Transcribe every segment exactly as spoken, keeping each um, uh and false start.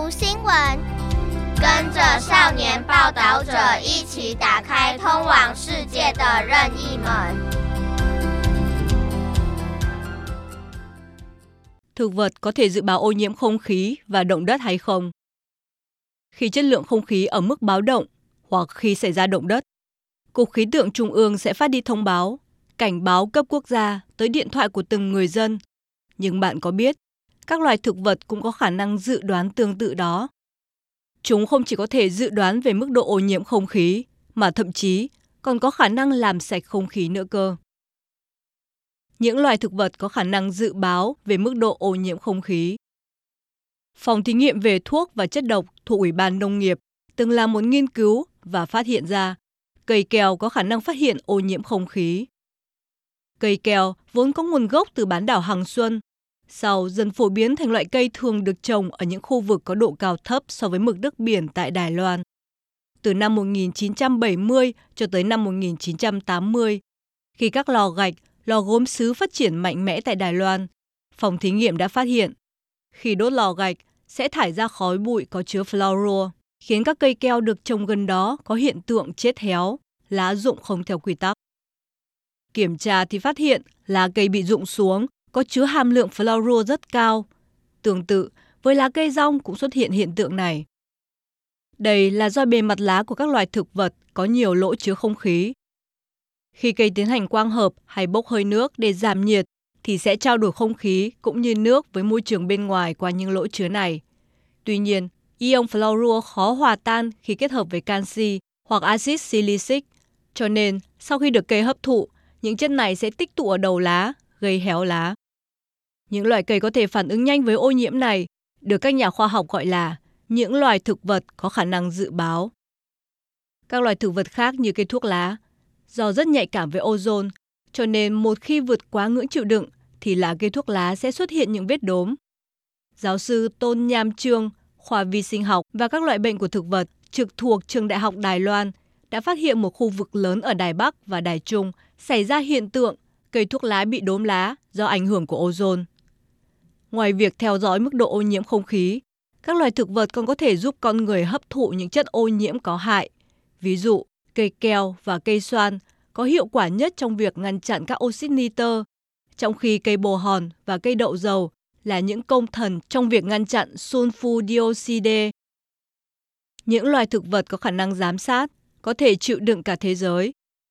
讀新聞，跟着少年報導者一起打開通往世界的任意門。 Thực vật có thể dự báo ô nhiễm không khí và động đất hay không? Khi chất lượng không khí ở mức báo động hoặc khi xảy ra động đất, Cục Khí tượng Trung ương sẽ phát đi thông báo, cảnh báo cấp quốc gia tới điện thoại của từng người dân. Nhưng bạn có biết, các loài thực vật cũng có khả năng dự đoán tương tự đó. Chúng không chỉ có thể dự đoán về mức độ ô nhiễm không khí, mà thậm chí còn có khả năng làm sạch không khí nữa cơ. Những loài thực vật có khả năng dự báo về mức độ ô nhiễm không khí. Phòng thí nghiệm về thuốc và chất độc thuộc Ủy ban Nông nghiệp từng làm một nghiên cứu và phát hiện ra cây keo có khả năng phát hiện ô nhiễm không khí. Cây keo vốn có nguồn gốc từ bán đảo Hằng Xuân, sau dần phổ biến thành loại cây thường được trồng ở những khu vực có độ cao thấp so với mực nước biển tại Đài Loan. Từ năm một nghìn chín trăm bảy mươi cho tới năm một nghìn chín trăm tám mươi, khi các lò gạch, lò gốm sứ phát triển mạnh mẽ tại Đài Loan, phòng thí nghiệm đã phát hiện khi đốt lò gạch sẽ thải ra khói bụi có chứa fluorua, khiến các cây keo được trồng gần đó có hiện tượng chết héo, lá rụng không theo quy tắc. Kiểm tra thì phát hiện lá cây bị rụng xuống có chứa hàm lượng fluorua rất cao. Tương tự với lá cây rong cũng xuất hiện hiện tượng này. Đây là do bề mặt lá của các loài thực vật có nhiều lỗ chứa không khí. Khi cây tiến hành quang hợp hay bốc hơi nước để giảm nhiệt thì sẽ trao đổi không khí cũng như nước với môi trường bên ngoài qua những lỗ chứa này. Tuy nhiên, ion fluorua khó hòa tan khi kết hợp với canxi hoặc axit silicic, cho nên sau khi được cây hấp thụ, những chất này sẽ tích tụ ở đầu lá, gây héo lá. Những loài cây có thể phản ứng nhanh với ô nhiễm này được các nhà khoa học gọi là những loài thực vật có khả năng dự báo. Các loài thực vật khác như cây thuốc lá, do rất nhạy cảm với ozone, cho nên một khi vượt quá ngưỡng chịu đựng thì lá cây thuốc lá sẽ xuất hiện những vết đốm. Giáo sư Tôn Nham Trương, khoa vi sinh học và các loại bệnh của thực vật trực thuộc Trường Đại học Đài Loan đã phát hiện một khu vực lớn ở Đài Bắc và Đài Trung xảy ra hiện tượng cây thuốc lá bị đốm lá do ảnh hưởng của ozone. Ngoài việc theo dõi mức độ ô nhiễm không khí, các loài thực vật còn có thể giúp con người hấp thụ những chất ô nhiễm có hại. Ví dụ, cây keo và cây xoan có hiệu quả nhất trong việc ngăn chặn các oxit nitơ, trong khi cây bồ hòn và cây đậu dầu là những công thần trong việc ngăn chặn sulfur dioxide. Những loài thực vật có khả năng giám sát, có thể chịu đựng cả thế giới.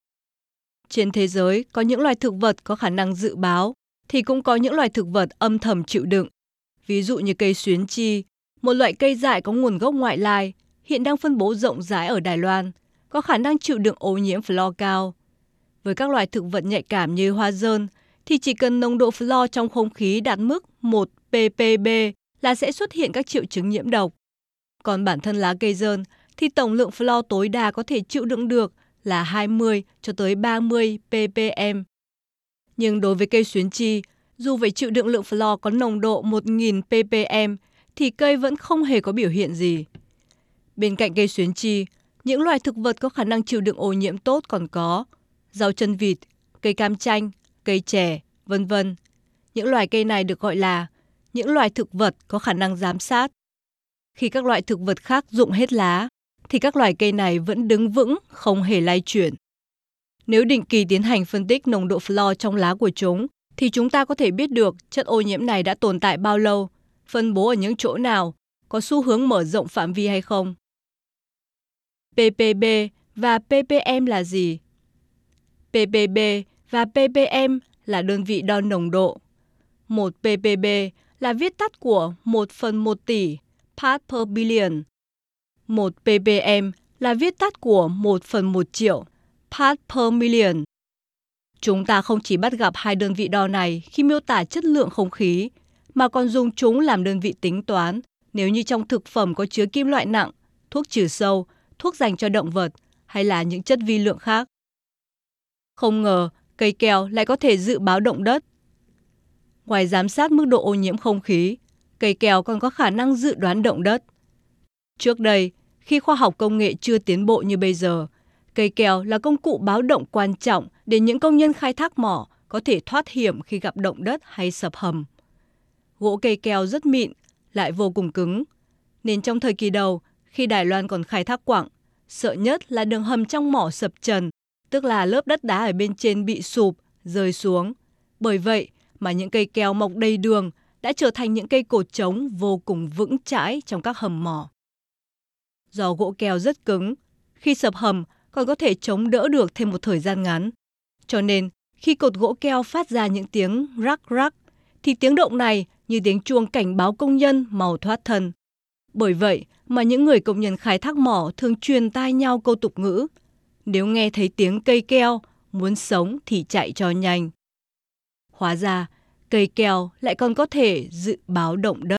Trên thế giới có những loài thực vật có khả năng dự báo, thì cũng có những loài thực vật âm thầm chịu đựng. Ví dụ như cây xuyến chi, một loại cây dại có nguồn gốc ngoại lai, hiện đang phân bố rộng rãi ở Đài Loan, có khả năng chịu đựng ô nhiễm fluor cao. Với các loài thực vật nhạy cảm như hoa dơn, thì chỉ cần nồng độ fluor trong không khí đạt mức một ppb là sẽ xuất hiện các triệu chứng nhiễm độc. Còn bản thân lá cây dơn thì tổng lượng fluor tối đa có thể chịu đựng được là hai mươi cho tới ba mươi ppm. Nhưng đối với cây xuyến chi, dù phải chịu đựng lượng fluor có nồng độ một nghìn ppm thì cây vẫn không hề có biểu hiện gì. Bên cạnh cây xuyến chi, những loài thực vật có khả năng chịu đựng ô nhiễm tốt còn có rau chân vịt, cây cam chanh, cây chè, vân vân. Những loài cây này được gọi là những loài thực vật có khả năng giám sát. Khi các loại thực vật khác rụng hết lá, thì các loài cây này vẫn đứng vững, không hề lay chuyển. Nếu định kỳ tiến hành phân tích nồng độ fluor trong lá của chúng, thì chúng ta có thể biết được chất ô nhiễm này đã tồn tại bao lâu, phân bố ở những chỗ nào, có xu hướng mở rộng phạm vi hay không. ppb và ppm là gì? ppb và ppm là đơn vị đo nồng độ. một ppb là viết tắt của một phần một tỷ, part per billion. một ppm là viết tắt của một phần một triệu, part per million. Chúng ta không chỉ bắt gặp hai đơn vị đo này khi miêu tả chất lượng không khí, mà còn dùng chúng làm đơn vị tính toán nếu như trong thực phẩm có chứa kim loại nặng, thuốc trừ sâu, thuốc dành cho động vật hay là những chất vi lượng khác. Không ngờ, cây keo lại có thể dự báo động đất. Ngoài giám sát mức độ ô nhiễm không khí, cây keo còn có khả năng dự đoán động đất. Trước đây, khi khoa học công nghệ chưa tiến bộ như bây giờ, cây keo là công cụ báo động quan trọng để những công nhân khai thác mỏ có thể thoát hiểm khi gặp động đất hay sập hầm. Gỗ cây keo rất mịn, lại vô cùng cứng. Nên trong thời kỳ đầu, khi Đài Loan còn khai thác quặng, sợ nhất là đường hầm trong mỏ sập trần, tức là lớp đất đá ở bên trên bị sụp, rơi xuống. Bởi vậy mà những cây keo mọc đầy đường đã trở thành những cây cột trống vô cùng vững chãi trong các hầm mỏ. Do gỗ keo rất cứng, khi sập hầm còn có thể chống đỡ được thêm một thời gian ngắn. Cho nên, khi cột gỗ keo phát ra những tiếng rắc rắc, thì tiếng động này như tiếng chuông cảnh báo công nhân mau thoát thân. Bởi vậy mà những người công nhân khai thác mỏ thường truyền tai nhau câu tục ngữ: nếu nghe thấy tiếng cây keo, muốn sống thì chạy cho nhanh. Hóa ra, cây keo lại còn có thể dự báo động đất.